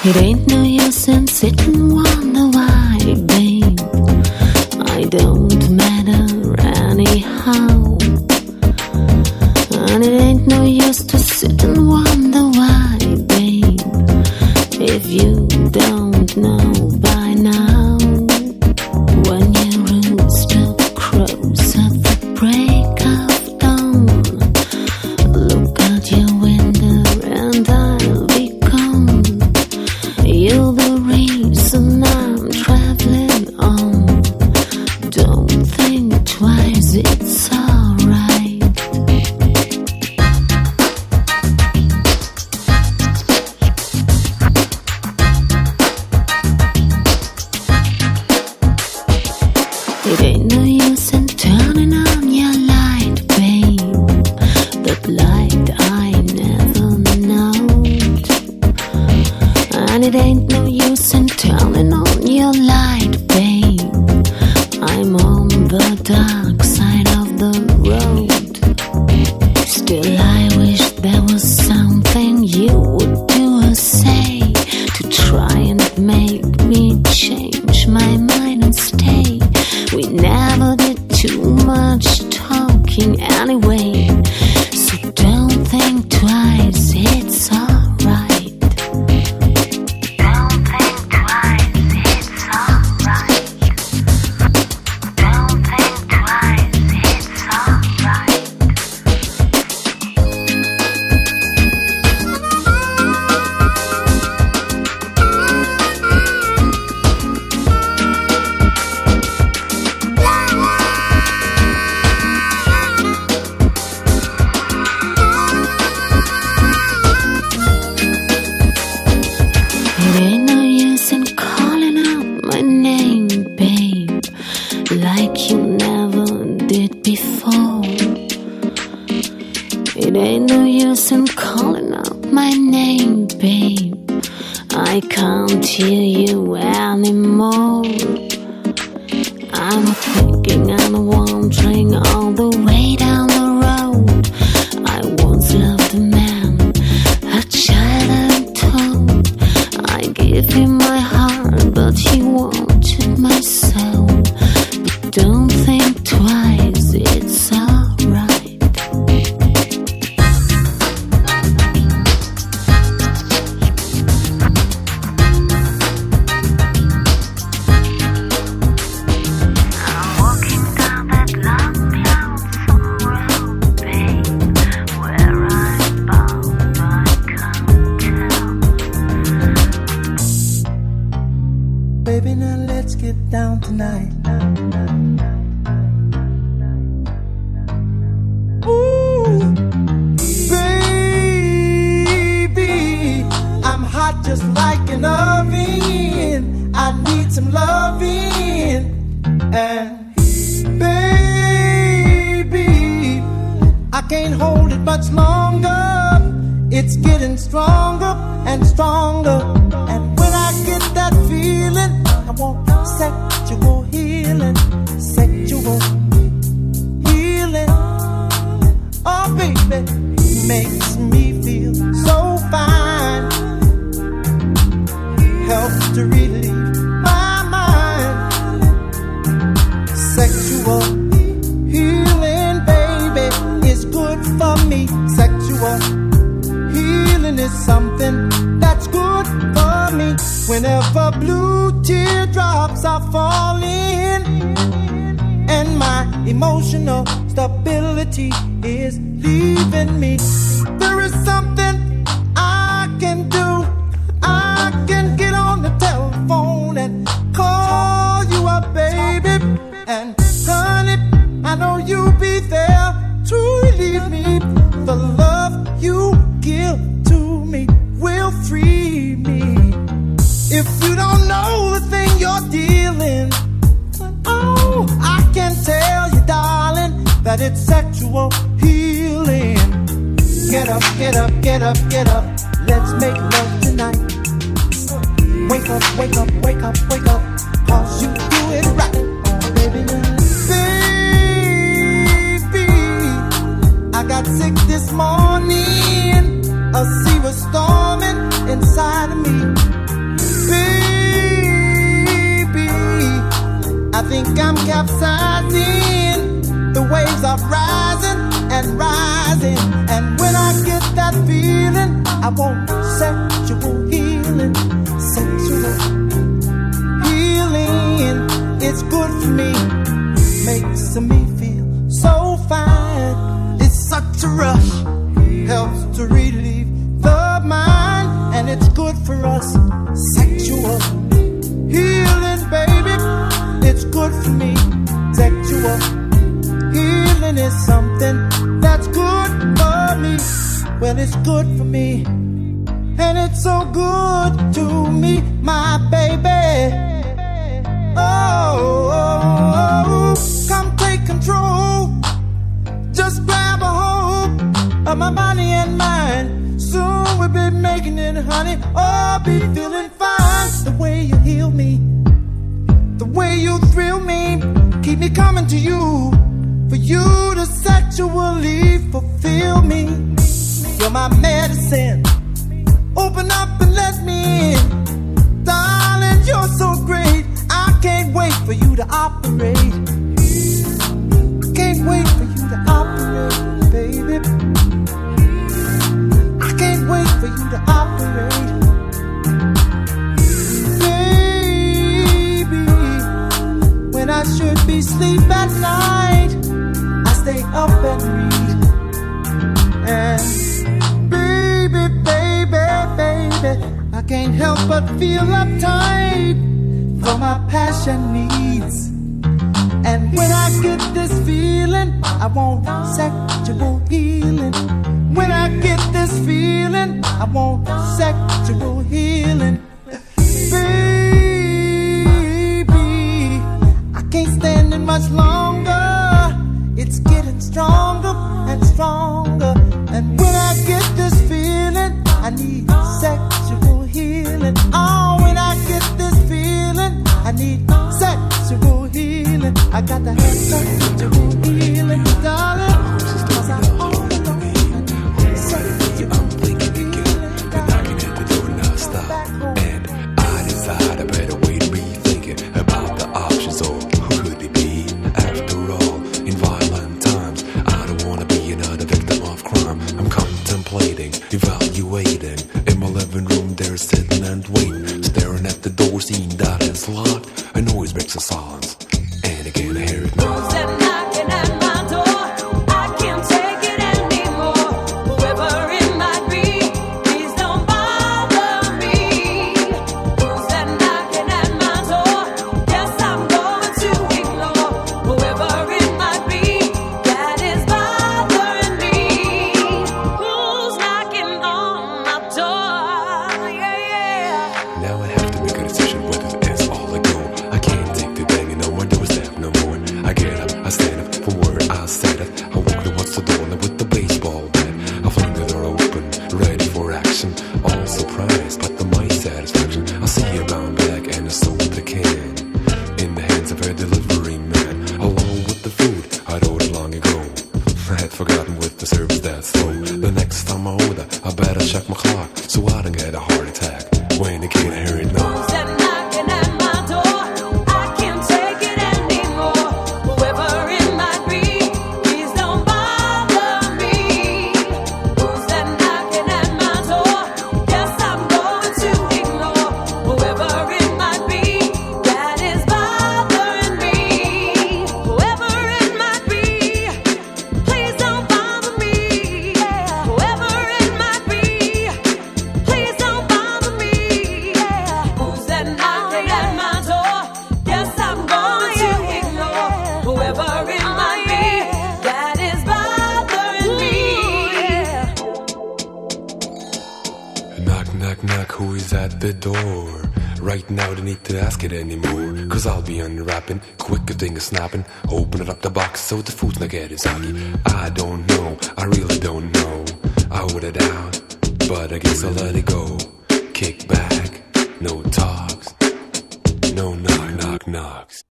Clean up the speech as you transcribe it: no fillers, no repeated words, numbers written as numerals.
It ain't no use in sitting wonder why, babe. I don't matter anyhow. And it ain't no use to sit and wonder why, babe, if you don't know by now. When your rooster crows at the break of dawn, look out your window and I'll be gone. You're the reason I'm traveling on. Don't think twice, it's alright. It ain't no use in turning on your light, babe. That light I never knowed. And it ain't no use in turning on your light, babe. I'm on the dark side of the road. Still I wish there was something you would do or say to try and make me change my mind and stay. We never did too much talking anyway, so don't think twice, it's alright. Don't think twice, it's alright. Don't think twice, it's alright. It ain't no use in calling out my name, babe, like you never did before. It ain't no use in calling out my name, babe. I can't hear you anymore. I'm thinking and wandering all the way down the road. I once loved a man, a child and told. I gave him my heart, but he wanted my soul. But don't think twice, it's alright. I'm walking down that long, lonesome road, babe, where I'm bound, I can't tell. Baby, now let's get down tonight. Ooh, baby, I'm hot just like an oven. I need some loving. And baby, I can't hold it much longer. It's getting stronger and stronger. And when I get that feeling, I want sexual healing. Sexual healing. Oh, baby, makes me feel so fine. Helps to relieve my mind. Sexual healing, baby, is good for me. Sexual healing is something that's good for me. Whenever blue teardrops are falling and my emotional stability is leaving me, there is something I can do. I can get on the telephone and call you up, baby. And honey, I know you'll be there to relieve me. The love you give to me will free me. If you don't know the thing you're dealing, oh, I can tell you, darling, that it's sexual healing. Get up, get up, get up, get up. Let's make love tonight. Wake up, wake up, wake up, wake up. 'Cause you do it right. Oh, baby, baby, I got sick this morning. A sea was storming inside of me. like I'm capsizing. The waves are rising and rising. And when I get that feeling, I want sexual healing. Sexual healing, it's good for me. Makes me feel so fine. It's such a rush, helps to relieve the mind, and it's good for us. Sexual healing, baby, it's good for me. Sexual healing is something that's good for me. Well, it's good for me, and it's so good to me, my baby. Oh, come take control. Just grab a hold of my body and mind. Soon we'll be making it, honey. Oh, be feeling fine. The way you heal me, the way you thrill me, keep me coming to you. For you to sexually fulfill me. You're my medicine. Open up and let me in. Darling, you're so great. I can't wait for you to operate. Can't wait for you to operate, baby. I can't wait for you to operate. Baby, when I should be asleep at night, I stay up and read. And baby, I can't help but feel uptight for my passion needs. And when I get this feeling, I want sexual healing. When I get this feeling, I want sexual healing. Baby, I can't stand it much longer. It's getting stronger and stronger. And when I get this feeling, I need sexual healing. Oh, when I get this feeling, I need sexual healing. I got to have sexual healing, darling. 'Cause I'm all alone. I'm thinking again, but knocking at the door non-stop. And I decide a better way to be thinking about the options, or who could it be? After all, in violent times, I don't want to be another victim of crime. I'm contemplating, evaluating. In my living room, they're sitting and waiting, staring at the door, seeing that it's locked. A noise breaks the silence, and again I hear it now. Who's that knocking at my door? I can't take it anymore. Whoever it might be, please don't bother me. Who's that knocking at my door? Yes, I'm going to ignore whoever it might be that is bothering me. Who's knocking on my door? Yeah. Now I have to make a decision whether it's all I go. I can't take the banging on my doorstep no more. I get up, I stand up from where I sat at. I walk towards the door with the baseball bat. I fling the door open, ready for action. All surprised, but to my satisfaction, I see a brown bag and a soda can in the hands of a delivery man, along with the food I'd ordered long ago. I had forgotten with the service that slow. The next time I order, I better check my clock so I don't get a heart attack. When again I hear it now. Who's that knocking at my door? I can't take it anymore. Whoever it might be, please don't bother me. Who's that knocking at my door? Yes, I'm going to ignore whoever it might be that is bothering me. Whoever it might be, please don't bother me. Whoever it might be, please don't bother me. Who's that knocking at my door? Yes, I'm going to ignore whoever it might be that is bothering me. Knock, knock, knock, who is at the door? Right now, don't need to ask it anymore, 'cause I'll be unwrapping, quicker thing is snapping. Open it up the box so the food's not getting soggy. I don't know, I really don't know. I ordered out, but I guess I'll let it go. Kick back, no talks, no knock, knock, knocks.